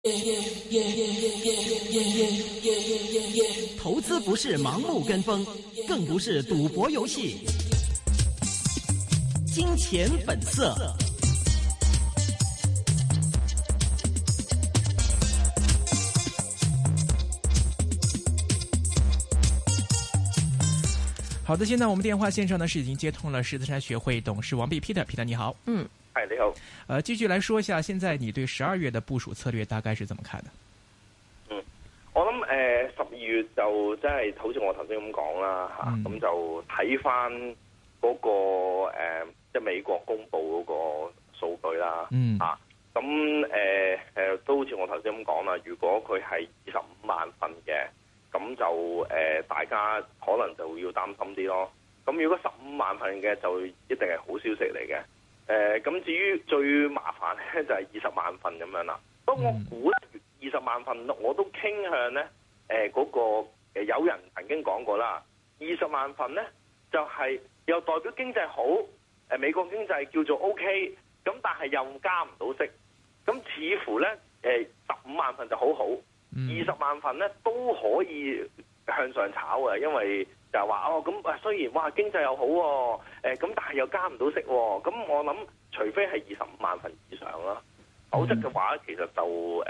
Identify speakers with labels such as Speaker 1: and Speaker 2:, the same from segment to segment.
Speaker 1: 投资不是盲目跟风，更不是赌博游戏。金钱本色。好的，现在我们电话线上呢是已经接通了狮子山学会董事王弼 Peter 你好。
Speaker 2: 係你好。
Speaker 1: 繼續來說一下，現在你對12月的部署策略大概是怎麼看的？
Speaker 2: 我諗12月就即係好似我頭先咁講啦嚇，咁就睇翻嗰個即係美國公布嗰個數據啦嚇，咁都好似我頭先咁講啦，如果佢係25萬份嘅，咁就大家可能就要擔心啲咯。咁如果15萬份嘅就一定係好消息嚟嘅。咁至於最麻煩咧就係20萬份咁樣啦。不過我估咧20萬份我都傾向咧嗰個有人曾經講過啦，20萬份咧就係又代表經濟好，美國經濟叫做 OK， 咁但係又加唔到息，咁似乎咧15萬份就好好，20萬份咧都可以向上炒嘅，因為就係話咁雖然哇經濟又好咁但係又加唔到息咁我諗除非係25萬份以上啦，否則嘅話其實就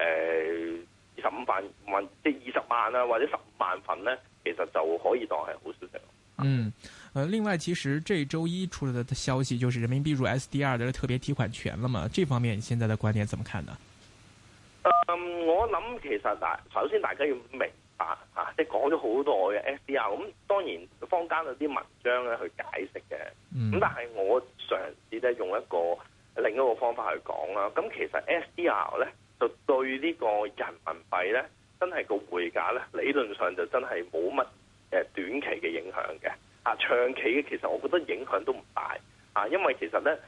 Speaker 2: 25萬即係20萬啊或者15萬份咧，其實就可以當係好消息。
Speaker 1: 另外其實這周一出來的消息就是人民幣入 SDR 的特別提款權了嘛，這方面你現在的觀點怎麼看呢？
Speaker 2: 我諗其實首先大家要明白即係講咗好多嘅 SDR， 咁當然坊間有啲文章咧去解釋嘅，咁但係我嘗試咧用另一個方法去講啦。咁其實 SDR 咧就對呢個人民幣咧真係個匯價咧理論上就真係冇乜短期嘅影響嘅，長期嘅其實我覺得影響都唔大因為其實咧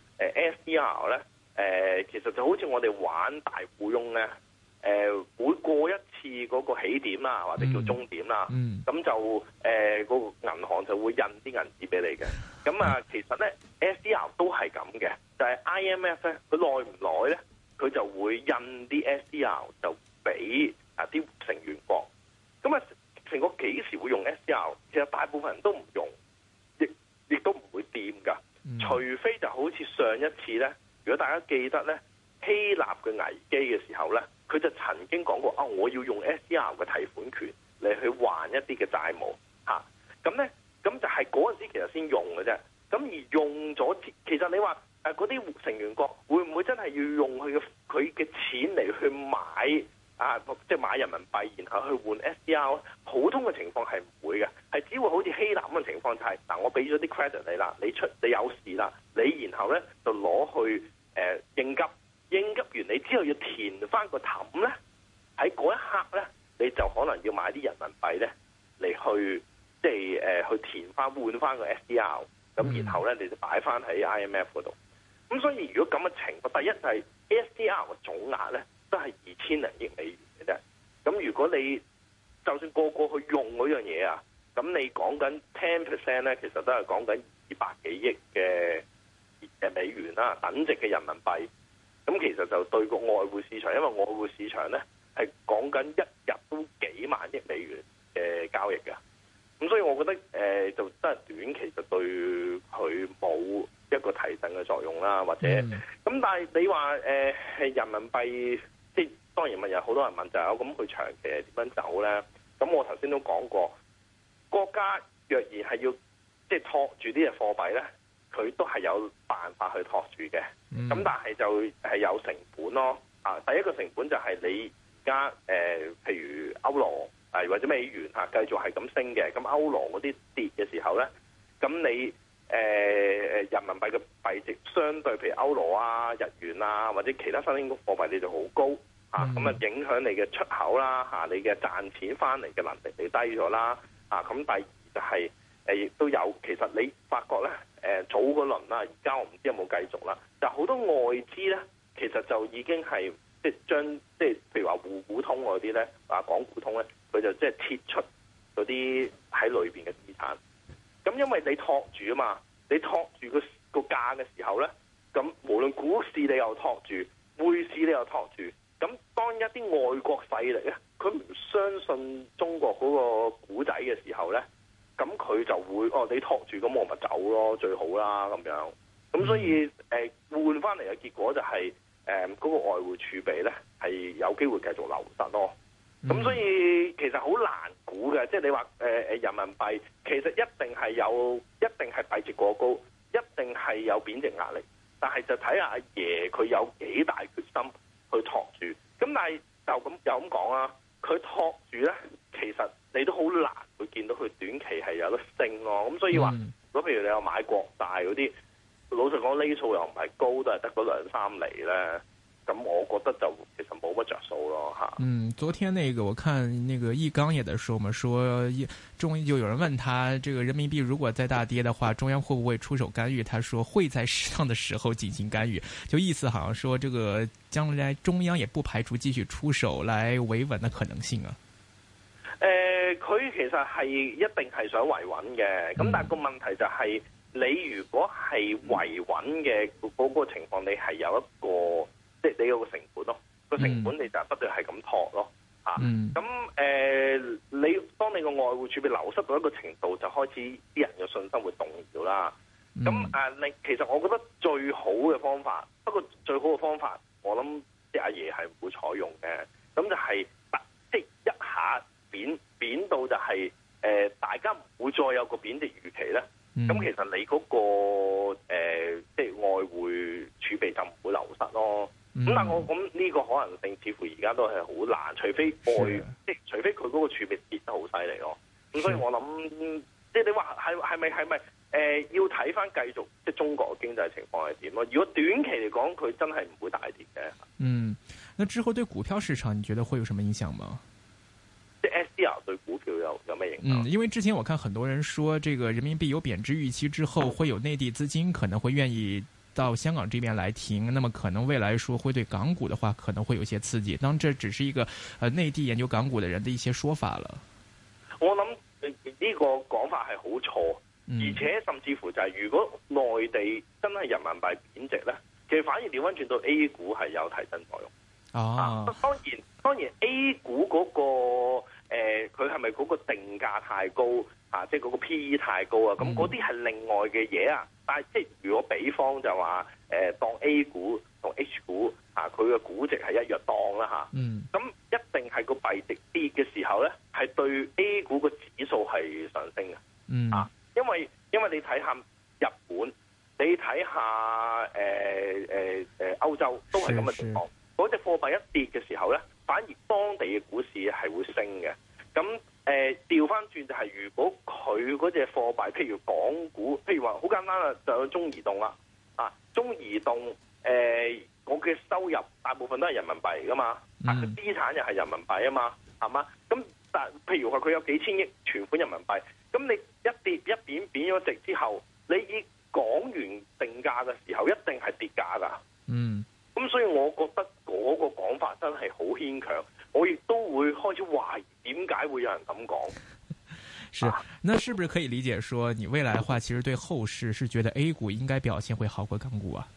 Speaker 2: SDR 咧其實就好似我哋玩大富翁咧。每過一次嗰個起點啦，或者叫終點啦，咁就嗰個銀行就會印啲銀紙俾你嘅。咁其實咧 SDR 都係咁嘅，就係 IMF 咧，佢耐唔耐咧，佢就會印啲 SDR 就俾啲成員國。咁成個幾時會用 SDR？ 其實大部分人都唔用，亦都唔會掂㗎。除非就好似上一次咧，如果大家記得咧，希臘嘅危機嘅時候咧。佢就曾經講過我要用 SDR 嘅提款權嚟去還一啲嘅債務咁咧，咁就係嗰陣時其實先用嘅啫。咁而用咗，其實你話嗰啲成員國會唔會真係要用佢嘅錢嚟去買即係買人民幣，然後去換 SDR？ 普通嘅情況係唔會嘅，係只會好似希臘咁嘅情況，就係我俾咗啲 credit 你啦，你有事啦，你然後咧就攞去應急。應急完你之後要填翻個氹咧，喺嗰一刻咧，你就可能要買啲人民幣咧嚟去即係去填翻換翻個 SDR， 咁然後咧你就擺翻喺 IMF 嗰度。咁所以如果咁嘅情況，第一就係 SDR 嘅總額咧都係2000零億美元嘅啫。咁如果你就算個去用嗰樣嘢咁你講緊 10% 咧，其實都係講緊200幾億嘅美元啦，等值嘅人民幣。咁其實就對個外匯市場，因為外匯市場咧係講緊一日都幾萬億美元嘅交易嘅，咁所以我覺得就真係短期就對佢冇一個提振嘅作用啦，或者咁。但係你話係人民幣，即係當然有好多人問就係咁佢長期係點樣走咧？咁我頭先都講過，國家若然係要即係托住啲嘅貨幣咧。佢都係有辦法去托住嘅，咁但係就係有成本咯。第一個成本就係你而家譬如歐羅或者美元繼續係咁升嘅，咁歐羅嗰啲跌嘅時候咧，咁你人民幣嘅幣值相對譬如歐羅日元或者其他新興貨幣你就好高咁影響你嘅出口啦你嘅賺錢翻嚟嘅能力你低咗啦咁第二就係亦都有，其實你發覺咧早嗰輪啦，而家我唔知有冇繼續啦，但好多外資咧，其實就已經係即係將即係譬如話滬股通嗰啲咧港股通咧，佢就即係撤出嗰啲喺裏邊嘅資產。咁因為你托住啊嘛，你托住個價嘅時候咧，咁無論股市你又托住，匯市你又托住，咁當當一啲外國勢力咧，佢唔相信中國嗰個古仔嘅時候咧，咁佢就會你托住，咁我咪走咯，最好啦咁樣。咁所以換翻嚟嘅結果就係嗰個外匯儲備咧係有機會繼續流失咯。咁所以其實好難估嘅，即係你話人民幣其實一定係幣值過高，一定係有貶值壓力。但係就睇下阿爺佢有幾大決心去托住。咁但係又咁講啦，佢托住咧，其實你都好難會見到佢短期係有得升咯。咁所以話，如果譬如你有買國債嗰啲，老實講呢數又唔係高，都係得嗰2-3厘咧。咁我覺得就其實冇乜着數咯嚇。
Speaker 1: 昨天我看易綱也在說嘛，說就有人問他，這個人民幣如果再大跌的話，中央會不會出手干預？他說會在適當的時候進行干預，就意思好像說這個將來中央也不排除繼續出手來維穩的可能性啊。
Speaker 2: 佢其實係一定係想維穩嘅，咁但係個問題就係你如果係維穩嘅嗰個情況，你係有一個。即係你有個成本咯，個成本你就不斷係咁托咯，咁你當你個外匯儲備流失到一個程度，就開始啲人嘅信心會動搖啦。咁你其實我覺得最好嘅方法，不過最好嘅方法，我諗即係阿爺係唔會採用嘅。咁就係即係一下貶到就係大家唔會再有個貶值預期咧。咁其實你嗰個即係外匯儲備就唔會流失咯。咁但係我咁呢個可能性似乎而家都係好難，除非除非佢嗰個儲備跌得好犀利咯。咁所以我諗，即係你話係咪要睇翻繼續即係中國嘅經濟情況係點咯？如果短期嚟講，佢真係唔會大跌嘅。
Speaker 1: 那之後對股票市場，你覺得會有什麼影響嗎？
Speaker 2: 即係 SDR 對股票有咩影響？
Speaker 1: 因為之前我看很多人說，這個人民幣有貶值預期之後，會有內地資金可能會願意到香港這邊來停，那麼可能未來說會對港股的話可能會有些刺激。當然這只是一個內地研究港股的人的一些說法了。
Speaker 2: 我諗呢個講法係好錯，而且甚至乎就係如果內地真係人民幣貶值咧，其實反而調翻轉到 A 股係有提振作用。當然 A 股嗰個佢係咪嗰個定價太高即係嗰個 PE 太高啊？咁嗰啲係另外嘅嘢啊。但係即係如果比方就話當 A 股同 H 股佢嘅估值係一樣當啦咁一定係個幣值跌嘅時候咧，係對 A 股個指數係上升嘅。因為你睇下日本，你睇下歐洲都係咁嘅情況。嗰隻貨幣一跌嘅時候咧，反而當地嘅股市係會升嘅。咁調翻轉就係，如果佢嗰隻貨幣，譬如港股，譬如話好簡單啦，就有中移動啦。中移動我嘅收入大部分都係人民幣噶嘛，佢資產又係人民幣啊嘛，係嘛？咁但譬如話佢有幾千億存款人民幣，咁你一跌一貶咗值之後，你以港元定價嘅時候，一定係跌價噶。咁所以我覺得嗰個講法真係好牽強，我亦都會開始懷疑點解會有人咁講。
Speaker 1: 是，那是不是可以理解說，你未來的話，其實對後市是覺得 A 股應該表現會好過港股啊？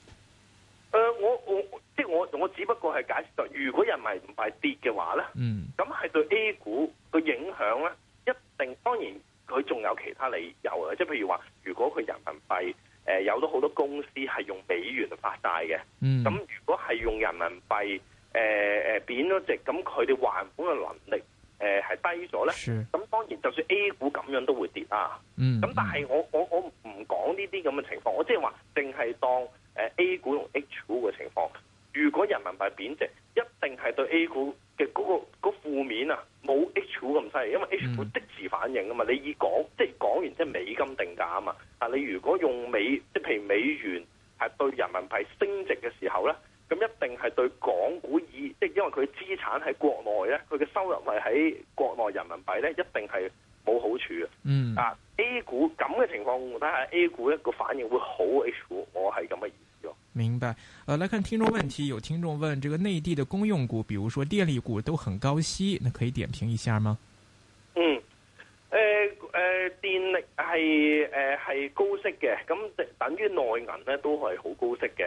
Speaker 1: 我只不過係解釋到，如果人民幣跌嘅話咧，咁係對 A 股個影響咧，一定當然佢仲有其他理由嘅，即係譬如話，如果佢人民幣有咗好多公司係用美元發債嘅，咁如果係用人民幣貶咗值，咁佢哋還款嘅能力係低咗咧，咁當然就算 A 股咁樣都會跌啊。咁但係我唔講呢啲咁嘅情況，我即係話淨係當A 股同 H 股嘅情況。如果人民幣貶值，一定係對 A 股嘅嗰負面啊，冇 H 股咁犀利，因為 H 股即時反應啊嘛。你以即係港元即係美金定價啊嘛。但你如果用即係譬如美元係對人民幣升值嘅時候咧，咁一定係對港股即係因為佢資產喺國內咧，佢嘅收入係喺國內人民幣咧，一定係冇好處嘅。A 股咁嘅情況，睇下 A 股一個反應會好 H 股，我係咁嘅意思咯。 明白。來看聽眾問題，有聽眾問：這個內地的公用股，比如說電力股，都很高息，那可以點評一下嗎？
Speaker 2: 電力係高息嘅，咁等於內銀咧都係好高息嘅。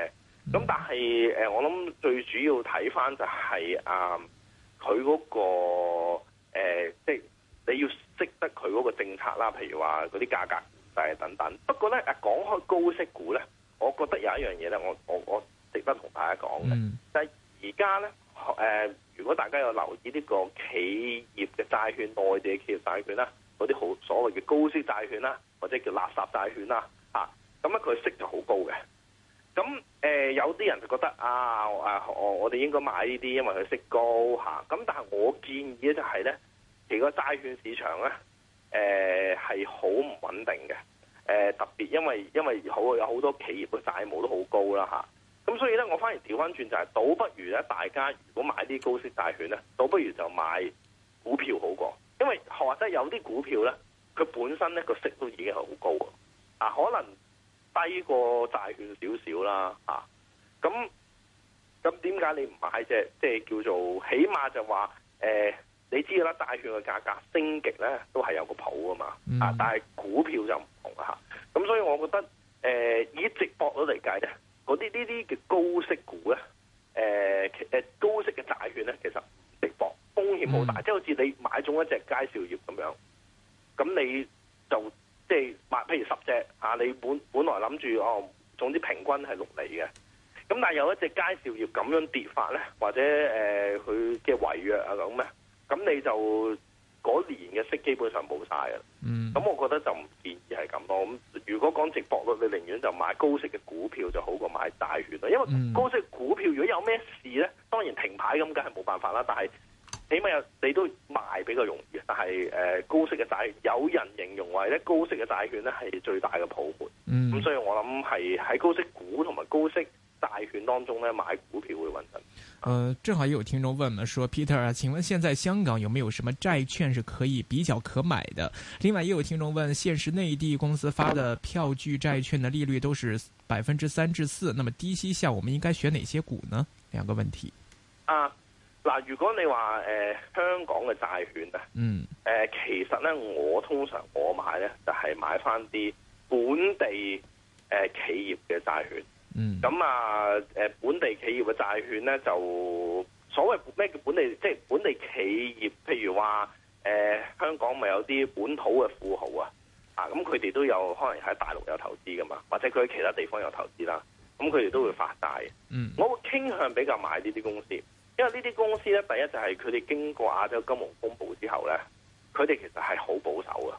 Speaker 1: 咁但係我諗最主要睇翻就係佢嗰個即係你要識得佢嗰個政策啦，譬如話嗰啲價格等等。不過咧講開高息股咧，我覺得有一樣嘢咧，我值得同大家講嘅，就係而家咧如果大家有留意呢個企業嘅債券，內地嘅企業債券啦，嗰啲好所謂嘅高息債券啦，或者叫垃圾債券啦，咁咧佢息就好高嘅。咁有啲人就覺得我哋應該買呢啲，因為佢息高嚇。咁但係我建議咧就係咧，其實個債券市場咧係好唔穩定嘅。特別因為有好多企業嘅債務都好高啦嚇。咁所以咧，我反而調翻轉就係，倒不如咧大家如果買啲高息債券咧，倒不如就買股票好過。因為或者有啲股票咧，佢本身咧個息都已經係好高可能低過債券少少啦咁點解你唔買啫？即係叫做起碼就話你知啦，債券嘅價格升極咧都係有個譜啊嘛但係股票就唔同咁所以我覺得以值博率嚟計咧，嗰啲呢啲嘅高息股咧高息嘅債券咧，其實值博風險好大，即係好似你買中一隻佳兆業咁樣，咁你就即係買譬如10隻你本來諗住總之平均係6厘嘅，咁但係有一隻佳兆業咁樣跌法咧，或者佢嘅違約咁咧，咁你就嗰年嘅息基本上冇晒嘅。咁我覺得就唔建議係咁咯。咁如果講值博率，你寧願就買高息嘅股票就好過買債券啦。因為高息股票如果有咩事咧，當然停牌咁梗係冇辦法啦。但係起碼你都賣比較容易。但係高息嘅債，有人形容為咧高息嘅債券咧係最大嘅泡沫。咁所以我諗係喺高息股同埋高息債券當中咧買股票會穩陣。
Speaker 3: 正好也有聽眾問嘛，說 Peter 啊，請問現在香港有沒有什麼債券是可以比較可買的？另外也有聽眾問，現時內地公司發的票據債券的利率都是3%至4%，那麼低息下我們應該選哪些股呢？兩個問題。
Speaker 1: 嗱，如果你話香港嘅債券其實咧我通常我買咧就係買翻啲本地企業嘅債券。咁本地企業嘅債券咧，就所謂咩叫本地，即係本地企業，譬如話香港咪有啲本土嘅富豪咁佢哋都有可能喺大陸有投資噶嘛，或者佢喺其他地方有投資啦，咁佢哋都會發債。我會傾向比較買呢啲公司，因為呢啲公司咧，第一就係佢哋經過亞洲金融風暴之後咧，佢哋其實係好保守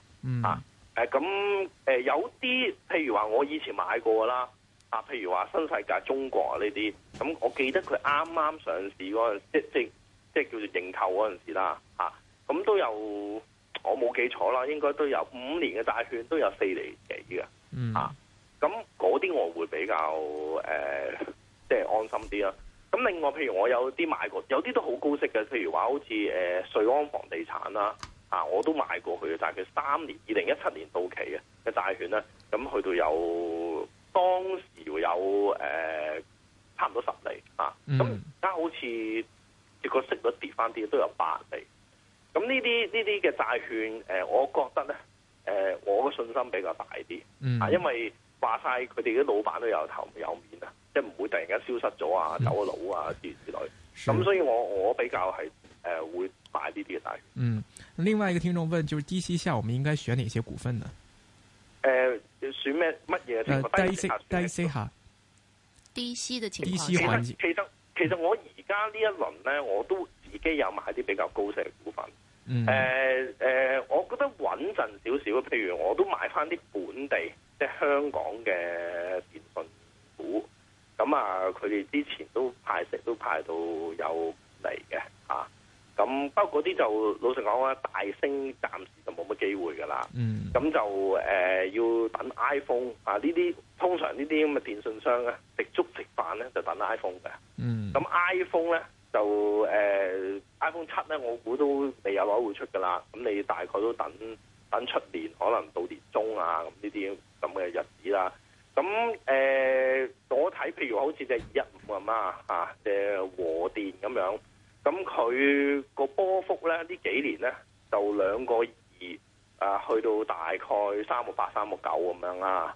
Speaker 1: 嘅。有啲譬如話我以前買過啦。譬如話新世界中國呢啲，咁我記得佢啱啱上市嗰陣，即係叫做認購嗰陣時啦，咁都有我冇記錯啦，應該都有5年嘅債券都有4厘幾嘅，咁嗰啲我會比較即係安心啲啦。咁另外譬如我有啲買過，有啲都好高息嘅，譬如話好似瑞安房地產啦，我都買過佢嘅債券，3年2017年到期嘅債券咧，咁去到有。當時有差唔多10厘咁而家好似個息率跌翻啲，都有8厘。咁呢啲嘅債券我覺得咧我嘅信心比較大啲因為話晒佢哋啲老闆都有頭有面即係唔會突然間消失咗走咗佬之類。咁所以我比較係會買呢啲嘅債券。
Speaker 3: 另外一個聽眾問，就是低息下我們應該選哪些股份呢？
Speaker 1: 選乜嘢情況？
Speaker 3: 低息下，
Speaker 4: 低息嘅情況。
Speaker 3: 低息環境。
Speaker 1: 其實我而家呢一輪咧，我都自己有買啲比較高息嘅股份。我覺得穩陣少少。譬如我都買翻啲本地，即係香港嘅電信股。咁佢哋之前都派息都派到有嚟嘅咁包括啲就老實講啦，大升暫時就冇乜機會㗎啦。咁就要等 iPhone 呢啲，通常呢啲咁嘅電信商咧，食粥食飯咧就等 iPhone 嘅。咁 iPhone 咧就iPhone 7咧，我估都未有攞會出㗎啦。咁你大概都等出年，可能到年中咁呢啲咁嘅日子啦。咁我睇譬如好似隻215咁隻和電咁樣。咁佢個波幅咧呢幾年咧就2.2去到大概3.8、3.9咁樣啦。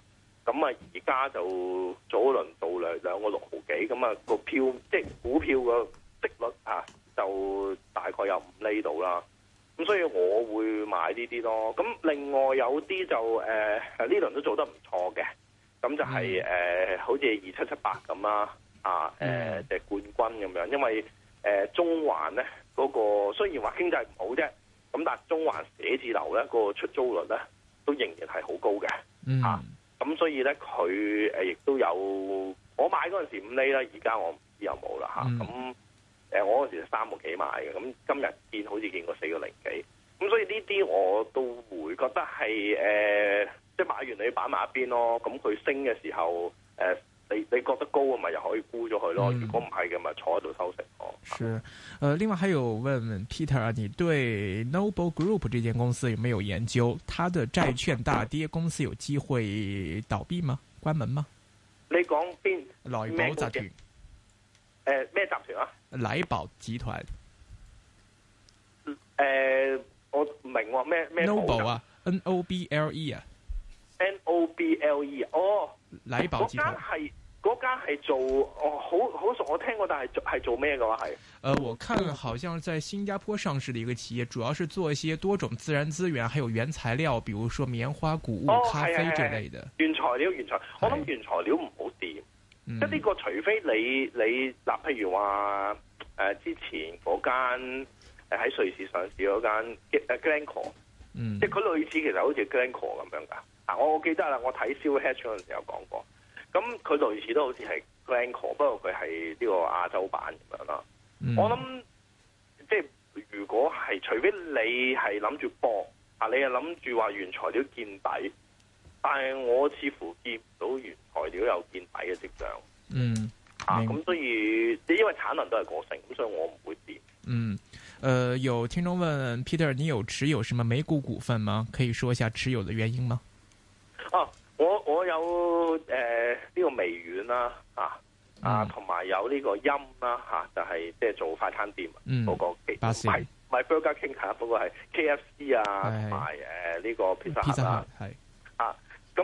Speaker 2: 咁啊而家就早一輪到兩個6毫幾，咁啊個票即係股票個息率啊就大概有5厘度啦。咁所以我會買呢啲咯。咁另外有啲就呢輪都做得唔錯嘅，咁就係、好似2778咁啦，即係冠軍咁樣。因為中環咧嗰個雖然話經濟唔好啫，咁但係中環寫字樓咧個出租率咧都仍然係好高嘅，咁所以咧佢亦都有我買嗰陣時5厘啦，而家我唔知有冇啦咁。我嗰時3個幾買嘅，咁今日見好似見過4個零幾，咁所以呢啲我都會覺得係即係買完你擺埋一邊咯。咁佢升嘅時候，你覺得高啊，咪又可以沽咗佢咯。如果唔係嘅，咪坐喺度收息咯。
Speaker 3: 是，另外還有問 Peter 啊，你對 Noble Group 這間公司有沒有研究？它的債券大跌，公司有機會倒閉嗎？關門嗎？
Speaker 2: 你講邊？
Speaker 3: 萊寶集團。
Speaker 2: 咩集團啊？
Speaker 3: 萊寶集團。
Speaker 2: 我唔明喎，咩
Speaker 3: Noble 啊 ，Noble 啊
Speaker 2: ，Noble 哦，
Speaker 3: 萊寶集團
Speaker 2: 嗰間係做好熟，我聽過，但係做咩嘅話係？
Speaker 3: 我看好像在新加坡上市的一個企業，主要是做一些多種自然資源，還有原材料，比如說棉花、谷物、咖啡這類的。原材料，我諗原材料唔好掂。即係呢個，除非你嗱，譬如話之前嗰間喺瑞士上市嗰間Glencore，即係佢類似其實好似 Glencore 咁樣㗎。我記得啦，我睇 Silver Hedge 嗰陣時有講過。咁佢類似都好似係 Glencore，不過佢係呢個亞洲版咁樣啦。我諗即係如果係除非你係諗住搏你係諗住話原材料見底。但係我似乎見唔到原材料有見底嘅跡象。咁所以因為產能都係過剩，咁所以我唔會跌。 有聽眾問 Peter， 你有持有什麼美股股份嗎？可以說一下持有的原因嗎？
Speaker 2: 我有呢個微軟啦，同埋有呢個鑫啦，就係即係做快餐店嗰個，唔係 Burger King，不過係 KFC 啊，同埋呢個 Pizza Hut 啦，咁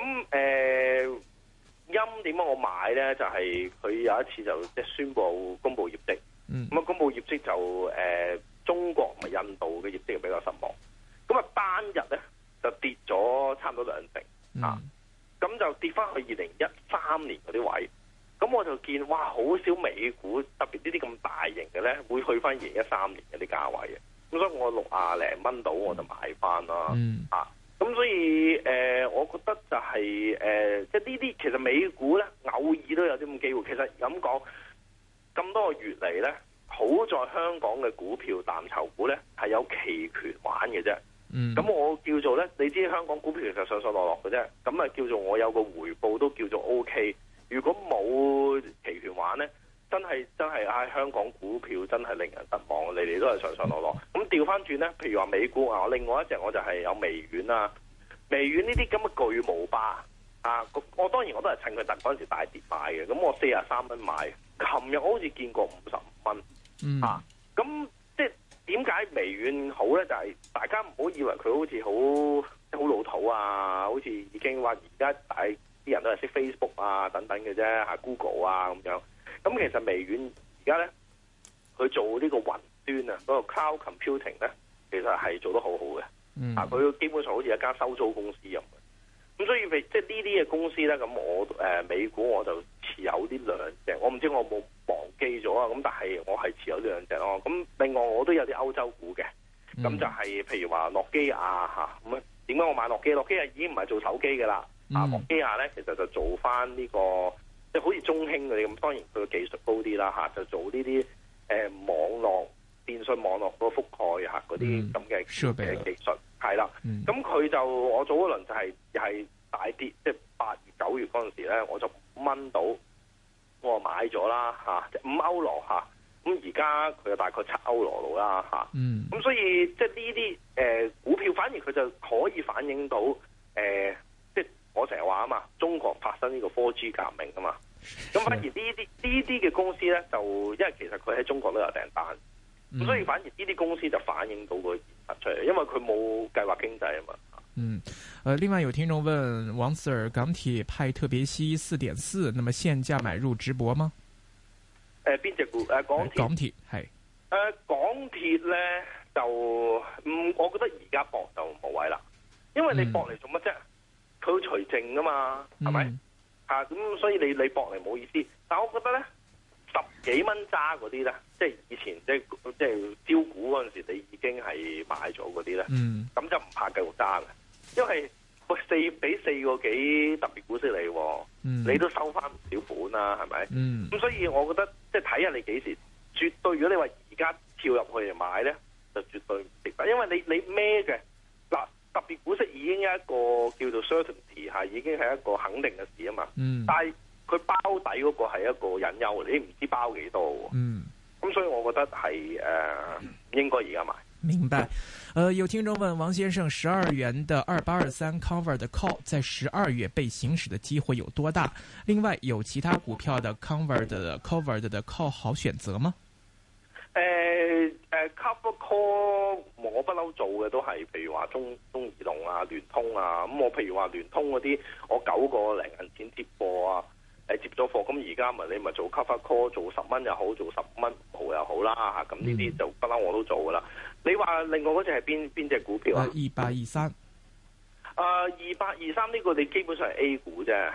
Speaker 2: 鑫點解我買咧？就係、是、佢有一次就即係宣布公布業績，咁公布業績就中國同埋印度嘅業績比較失望，咁單日咧就跌咗差唔多2成，咁就跌翻去2013年嗰啲位，咁我就見哇好少美股特別呢啲咁大型嘅咧會去翻2013年嗰啲價位嘅，咁所以我60零蚊到我就買翻啦，咁所以我覺得就係即係呢啲其實美股咧偶爾都有啲咁機會。其實咁講咁多個月嚟咧，好在香港嘅股票藍籌股咧係有期權玩嘅啫。咁我叫做咧，你知香港股票其實上上落落嘅啫。咁啊叫做我有個回報都叫做 OK。如果冇期權玩咧，真係香港股票真係令人失望，你哋都係上上落落。咁調翻轉咧，譬如話美股另外一隻我就係有微軟啊，微軟呢啲咁嘅巨無霸我當然我都係趁佢突嗰陣時大跌買嘅，咁我43蚊買，琴日我好似見過55蚊，咁即係點解微軟好咧？就係、是、大家唔好以為佢好似好老土好似已經話而家大啲人都係識 Facebook 等等嘅啫，Google 咁樣。咁其實微軟而家咧，佢做呢個雲端嗰個 cloud computing 咧，其實係做得好好嘅。佢基本上好似一間收租公司咁嘅。咁所以即係呢啲嘅公司咧，咁我美股我就持有呢兩隻。我唔知我冇忘記咗咁但係我係持有呢兩隻咯。咁另外我都有啲歐洲股嘅。咁就係譬如話諾基亞咁點解我買諾基亞？諾基亞已經唔係做手機嘅啦。諾基亞咧其實就做翻呢個。即係好似中興嗰啲咁，當然佢嘅技術高啲啦就做呢啲網絡電信網絡嗰個覆蓋嗰啲咁嘅技術係啦。咁佢就我早嗰輪就係又係大跌，即係8月9月嗰陣時咧，我就5蚊到，我買咗啦即係5歐羅咁而家佢就大概7歐羅到啦咁所以即係呢啲股票反而佢就可以反映到即係我成日話嘛，中國發生呢個 4G 革命嘛。咁反而呢啲嘅公司咧，就因為其實佢喺中國都有訂單，咁所以反而呢啲公司就反映到個現實出嚟，因為佢冇計劃經濟啊嘛。
Speaker 3: 另外有聽眾問王 Sir， 港鐵派特別息4.4，那麼現價買入直播嗎？
Speaker 2: 邊隻股？港鐵
Speaker 3: 係。
Speaker 2: 港鐵咧就我覺得而家搏就冇位啦，因為你搏嚟做乜啫？佢會除淨噶嘛，係咪？咁所以你搏嚟冇意思。但係我覺得咧，10幾蚊揸嗰啲咧，即係以前即係招股嗰陣時，你已經係買咗嗰啲咧，咁就唔怕繼續揸嘅，因為俾4個幾特別股息你，你都收翻唔少本啦，係咪？咁所以我覺得即係睇下你幾時。絕對，如果你話而家跳入去嚟買咧，就絕對唔值得，因為你孭嘅嗱特別股息已經有一個叫做 certainty 係已經係一個肯定嘅事啊嘛。但係佢包底嗰個係一個隱憂，你唔知包幾多。咁所以我覺得係應該而家買。
Speaker 3: 明白。有聽眾問王先生，12元的2823 cover 的 call 在12月被行使的機會有多大？另外有其他股票的 covered 的 call 好選擇嗎
Speaker 2: ？cover call 我不嬲做嘅都係，譬如話中移動啊、聯通啊，咁我譬如話聯通嗰啲，我9個零銀錢接貨啊，接咗貨，咁而家你咪做 cover call， 做10蚊又好，做10蚊毫又好啦吓，咁呢啲就不嬲我都做噶啦。你話另外嗰隻係邊隻股票啊
Speaker 3: ？2823。
Speaker 2: 2823呢個你基本上係 A 股啫，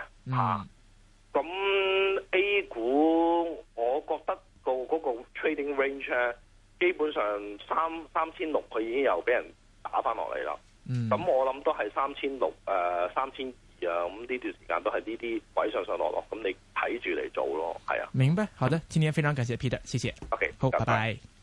Speaker 2: 咁 A 股我覺得嗰個 trading range 咧，基本上3600佢已經又俾人打翻落嚟啦。咁我諗都係3600、3200啊，咁呢段時間都係呢啲位上落，咁你睇住嚟做咯，係啊。
Speaker 3: 明白，好的，今天非常感謝 Peter，謝謝。
Speaker 2: OK，
Speaker 3: 好，拜拜。